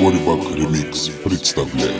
Хорибак Ремикс представляет.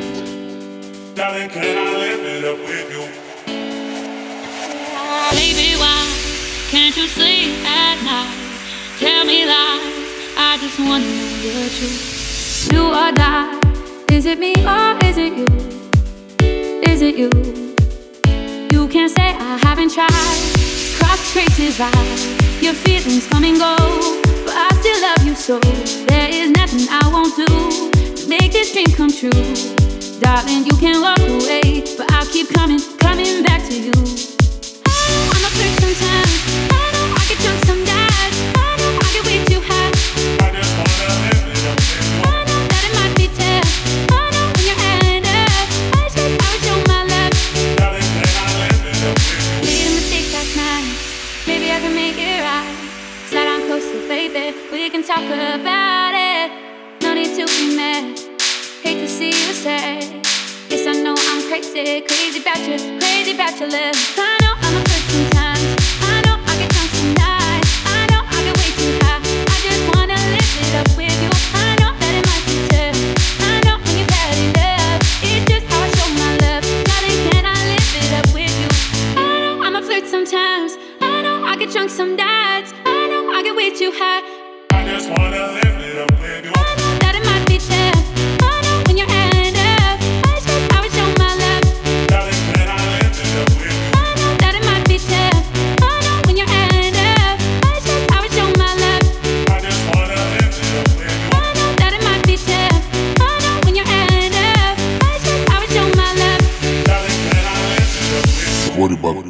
Baby, why can't you sleep at night? Tell me lies, I just wanna know the truth. Do or die, is it me or is it you? Is it you? You can't say I haven't tried. Cross street divide, your feelings come and go, but I still love you so. There is nothing I won't do to make this dream come true. Darling, you can walk away, but I'll keep coming back to you. I'm a freak sometimes. I know I get drunk some nights. I know I get way too high. I just wanna live it up with you. I know that it might be tough. I know when you're end up. I would show my love. Darling, can I live it up with you? Made a mistake last night. Maybe I can make it right. Slide down closer, baby. We can talk about it. No need to be mad. Hate to see you sad. Yes, I know I'm crazy about your love. I know I'm a freak sometimes. I know I get drunk some nights. I know I get way too high. I just wanna live it up with you. I know that it might be tough. I know when you've had enough. It's just how I show my love. Darling, can I live it up with you? I know I'm a flirt sometimes. I know I get drunk some nights. I know I get way too high. I just wanna live it up with you. I know that it might be tough. I know when you're end up. I would show my love. Darling, can I live it up with you? I know that it might be tough. I know when you're end up. I would show my love. I just wanna live it up with you. I know that it might be tough. I know when you're end up. I would show my love. Darling, can I live it up with you? Хорибак.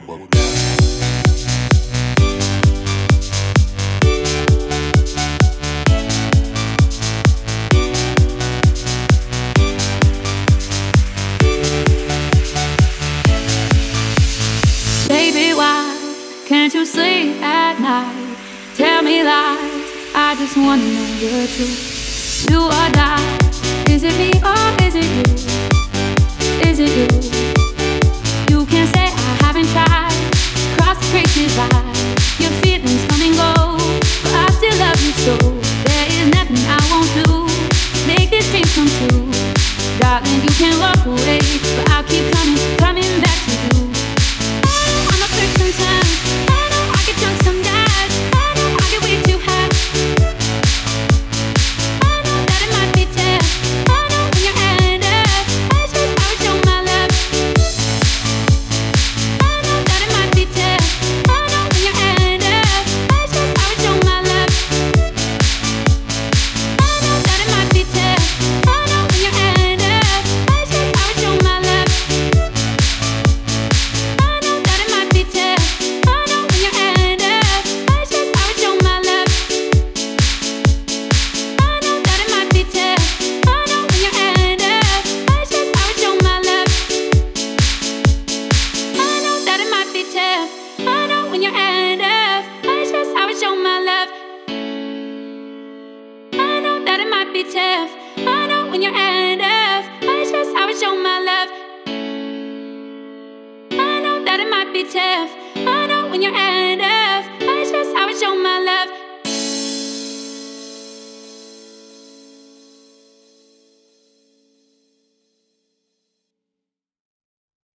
Baby, why can't you sleep at night? Tell me lies, I just wanna know the truth. Do or die, is it me or is it you? Is it you? You can't say I haven't tried. Cross the great divide, your feelings come and go, but I still love you so. There is nothing I won't do to make this dream come true. Darling, you can walk away, but I'll keep coming back to you. I'm a freak sometimes. I know I get drunk some nights. I know I get way too high. I know that it might be tough. I know when you're end up. I would show my love. I know that it might be tough. I know when you're end up. I would show my love. I know that it might be tough. I know when you're end up. I would show my love. I know that it might be tough. I know when you're end up. I would show my love. I know that it might be tough. I know when you're end up. I would show my love. I know that it might be tough. I know when you're end up. I would show my love. I know that it might be tough. I know when you're end up. I would show my love. I know that it might be tough. I know when you're